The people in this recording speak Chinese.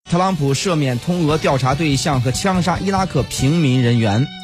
特朗普赦免通俄调查对象和枪杀伊拉克平民人员。